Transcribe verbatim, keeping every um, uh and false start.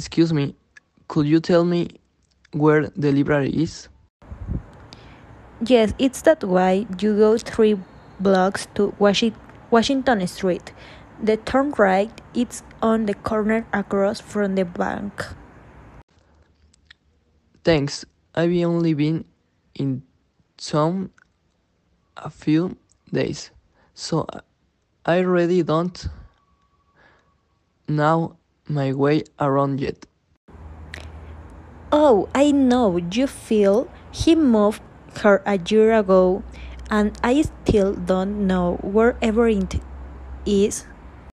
Excuse me, could you tell me where the library is? Yes, it's that way. You go three blocks to Washi- Washington Street. The turn right, it's on the corner across from the bank. Thanks, I've only been in town a few days, so I really don't know my way around yet. Oh, I know, you feel he moved her a year ago, and I still don't know where everything is.